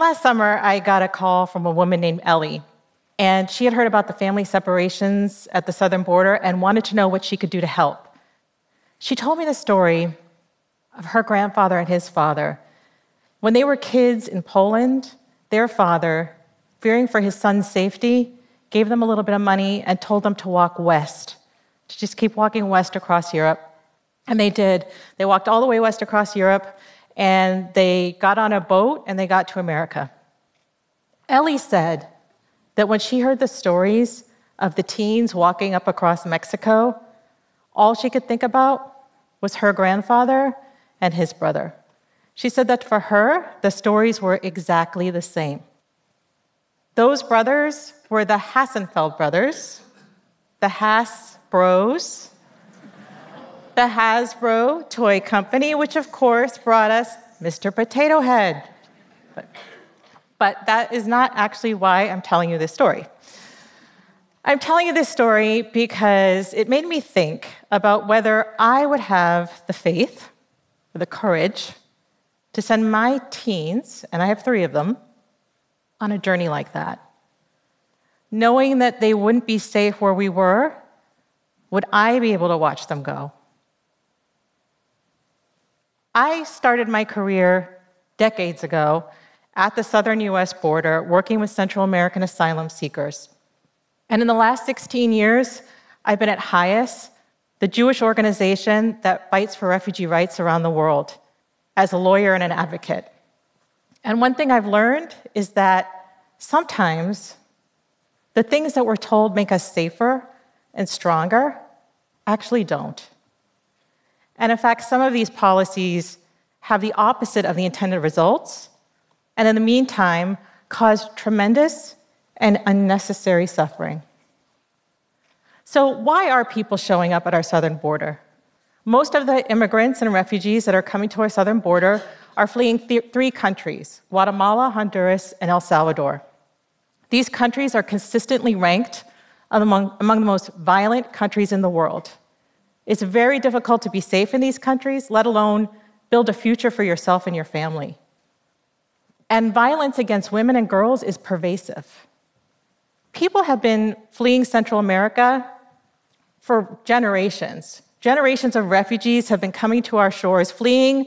Last summer, I got a call from a woman named Ellie, and she had heard about the family separations at the southern border and wanted to know what she could do to help. She told me the story of her grandfather and his father. When they were kids in Poland, their father, fearing for his son's safety, gave them a little bit of money and told them to walk west, to just keep walking west across Europe. And they did. They walked all the way west across Europe, and they got on a boat, and they got to America. Ellie said that when she heard the stories of the teens walking up across Mexico, all she could think about was her grandfather and his brother. She said that for her, the stories were exactly the same. Those brothers were the Hassenfeld brothers, the Hass Bros, the Hasbro Toy Company, which of course brought us Mr. Potato Head. But that is not actually why I'm telling you this story. I'm telling you this story because it made me think about whether I would have the faith or the courage to send my teens, and I have 3 of them, on a journey like that. Knowing that they wouldn't be safe where we were, would I be able to watch them go? I started my career decades ago at the southern US border working with Central American asylum seekers. And in the last 16 years, I've been at HIAS, the Jewish organization that fights for refugee rights around the world, as a lawyer and an advocate. And one thing I've learned is that sometimes the things that we're told make us safer and stronger actually don't. And in fact, some of these policies have the opposite of the intended results, and in the meantime, cause tremendous and unnecessary suffering. So why are people showing up at our southern border? Most of the immigrants and refugees that are coming to our southern border are fleeing 3 countries: Guatemala, Honduras, and El Salvador. These countries are consistently ranked among the most violent countries in the world. It's very difficult to be safe in these countries, let alone build a future for yourself and your family. And violence against women and girls is pervasive. People have been fleeing Central America for generations. Generations of refugees have been coming to our shores, fleeing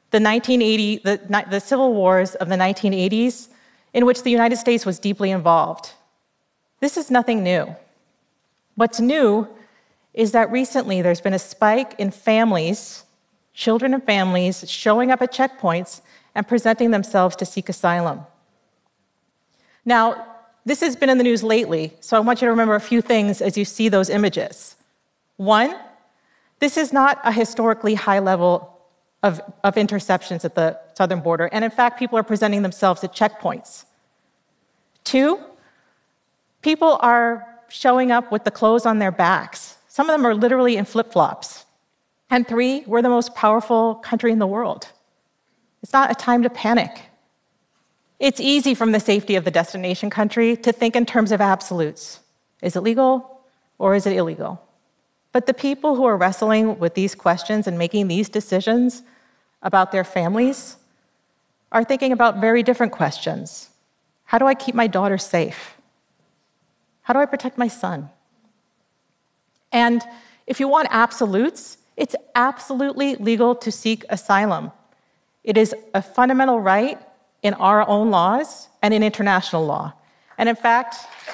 the civil wars of the 1980s, in which the United States was deeply involved. This is nothing new. What's new is that recently there's been a spike in families, children and families, showing up at checkpoints and presenting themselves to seek asylum. Now, this has been in the news lately, so I want you to remember a few things as you see those images. 1, this is not a historically high level of interceptions at the southern border, and in fact, people are presenting themselves at checkpoints. 2, people are showing up with the clothes on their backs. Some of them are literally in flip-flops. And 3, we're the most powerful country in the world. It's not a time to panic. It's easy from the safety of the destination country to think in terms of absolutes. Is it legal or is it illegal? But the people who are wrestling with these questions and making these decisions about their families are thinking about very different questions. How do I keep my daughter safe? How do I protect my son? And if you want absolutes, it's absolutely legal to seek asylum. It is a fundamental right in our own laws and in international law. And in fact,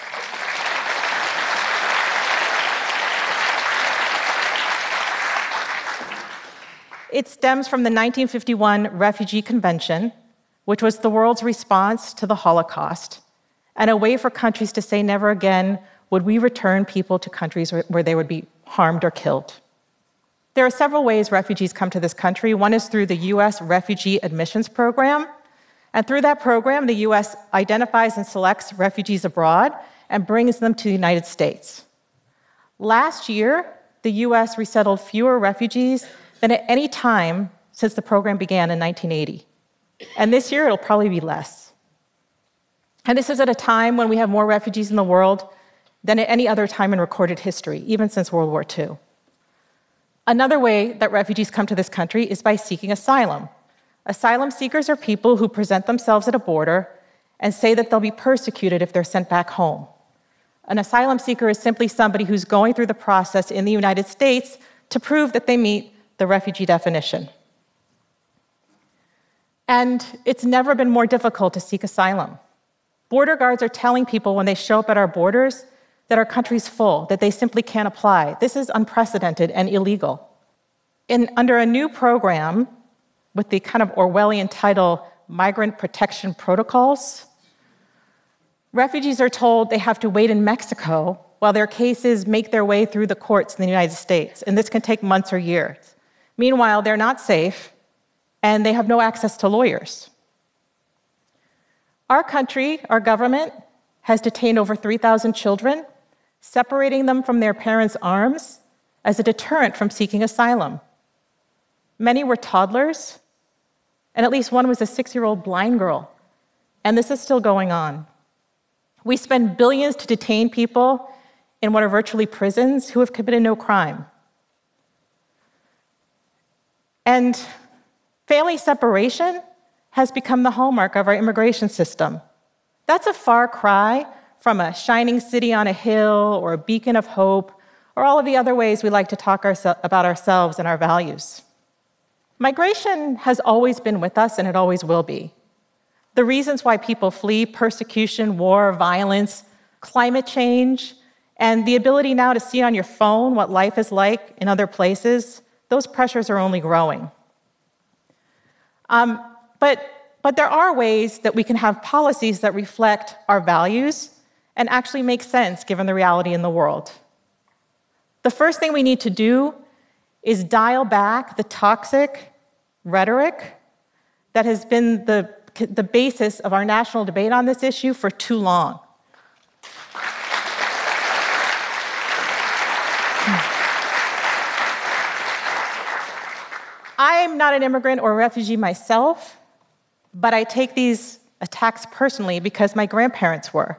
it stems from the 1951 Refugee Convention, which was the world's response to the Holocaust, and a way for countries to say never again would we return people to countries where they would be harmed or killed. There are several ways refugees come to this country. One is through the US Refugee Admissions Program. And through that program, the US identifies and selects refugees abroad and brings them to the United States. Last year, the US resettled fewer refugees than at any time since the program began in 1980. And this year, it'll probably be less. And this is at a time when we have more refugees in the world than at any other time in recorded history, even since World War II. Another way that refugees come to this country is by seeking asylum. Asylum seekers are people who present themselves at a border and say that they'll be persecuted if they're sent back home. An asylum seeker is simply somebody who's going through the process in the United States to prove that they meet the refugee definition. And it's never been more difficult to seek asylum. Border guards are telling people when they show up at our borders that our country's full, that they simply can't apply. This is unprecedented and illegal. Under a new program with the kind of Orwellian title, Migrant Protection Protocols, refugees are told they have to wait in Mexico while their cases make their way through the courts in the United States, and this can take months or years. Meanwhile, they're not safe, and they have no access to lawyers. Our country, our government, has detained over 3,000 children, separating them from their parents' arms as a deterrent from seeking asylum. Many were toddlers, and at least one was a 6-year-old blind girl, and this is still going on. We spend billions to detain people in what are virtually prisons who have committed no crime. And family separation has become the hallmark of our immigration system. That's a far cry from a shining city on a hill or a beacon of hope or all of the other ways we like to talk about ourselves and our values. Migration has always been with us, and it always will be. The reasons why people flee persecution, war, violence, climate change, and the ability now to see on your phone what life is like in other places, those pressures are only growing. But there are ways that we can have policies that reflect our values and actually make sense given the reality in the world. The first thing we need to do is dial back the toxic rhetoric that has been the basis of our national debate on this issue for too long. I'm not an immigrant or a refugee myself, but I take these attacks personally because my grandparents were.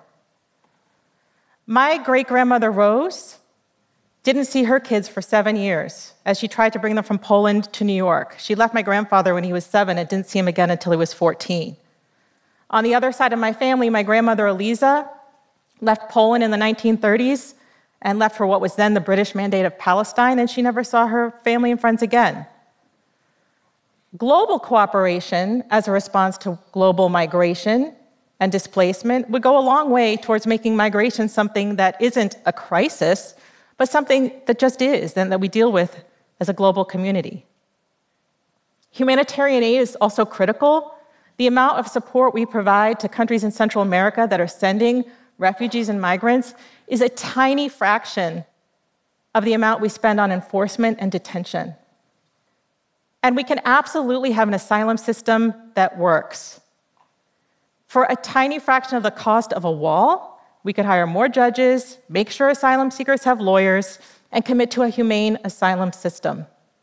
My great-grandmother Rose didn't see her kids for 7 years as she tried to bring them from Poland to New York. She left my grandfather when he was 7 and didn't see him again until he was 14. On the other side of my family, my grandmother Eliza left Poland in the 1930s and left for what was then the British Mandate of Palestine, and she never saw her family and friends again. Global cooperation as a response to global migration and displacement would go a long way towards making migration something that isn't a crisis, but something that just is and that we deal with as a global community. Humanitarian aid is also critical. The amount of support we provide to countries in Central America that are sending refugees and migrants is a tiny fraction of the amount we spend on enforcement and detention. And we can absolutely have an asylum system that works. For a tiny fraction of the cost of a wall, we could hire more judges, make sure asylum seekers have lawyers, and commit to a humane asylum system.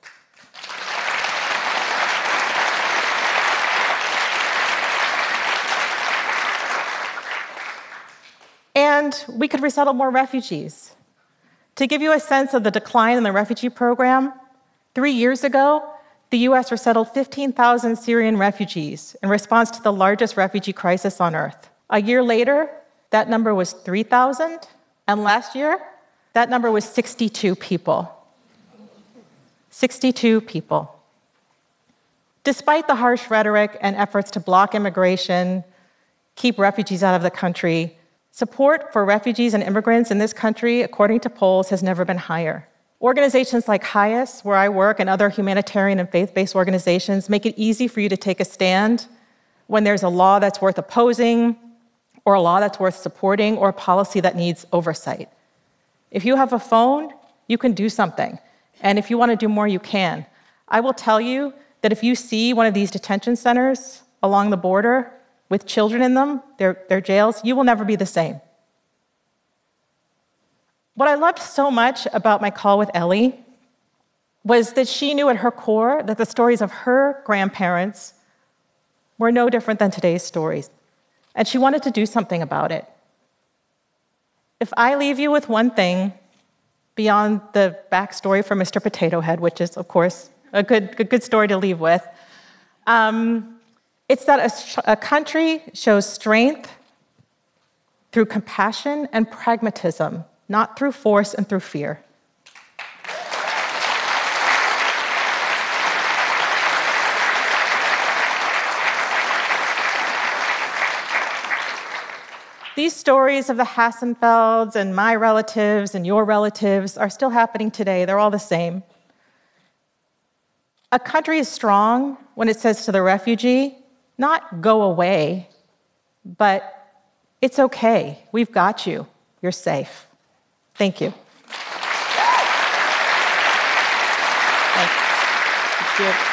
And we could resettle more refugees. To give you a sense of the decline in the refugee program, 3 years ago, the US resettled 15,000 Syrian refugees in response to the largest refugee crisis on earth. A year later, that number was 3,000, and last year, that number was 62 people. 62 people. Despite the harsh rhetoric and efforts to block immigration, keep refugees out of the country, support for refugees and immigrants in this country, according to polls, has never been higher. Organizations like HIAS, where I work, and other humanitarian and faith-based organizations make it easy for you to take a stand when there's a law that's worth opposing, or a law that's worth supporting, or a policy that needs oversight. If you have a phone, you can do something. And if you want to do more, you can. I will tell you that if you see one of these detention centers along the border with children in them, their jails, you will never be the same. What I loved so much about my call with Ellie was that she knew at her core that the stories of her grandparents were no different than today's stories, and she wanted to do something about it. If I leave you with one thing beyond the backstory for Mr. Potato Head, which is, of course, a good story to leave with, It's that a country shows strength through compassion and pragmatism, not through force and through fear. These stories of the Hassenfelds and my relatives and your relatives are still happening today. They're all the same. A country is strong when it says to the refugee, not go away, but it's okay. We've got you. You're safe. Thank you. Thanks. Thank you.